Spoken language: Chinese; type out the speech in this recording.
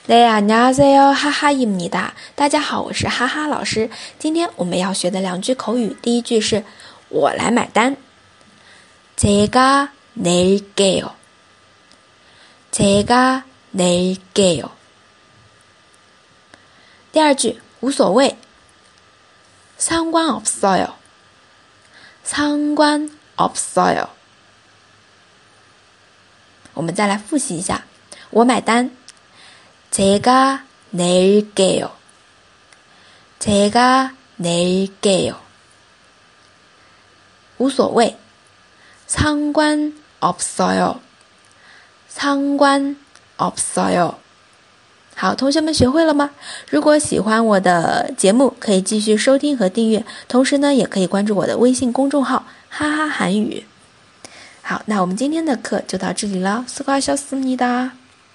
네, 안녕하세요, 하하입니다.大家好，我是哈哈老师。今天我们要学的两句口语，第一句是我来买单。제가낼게요。제가낼게요。第二句无所谓。상관없어요。상관없어요。我们再来复习一下，我买单。제가낼게요。제가낼게요。无所谓。상관없어요。상관없어요。好，同学们学会了吗？如果喜欢我的节目，可以继续收听和订阅，同时呢，也可以关注我的微信公众号哈哈韩语。好，那我们今天的课就到这里了，수고하셨습니다。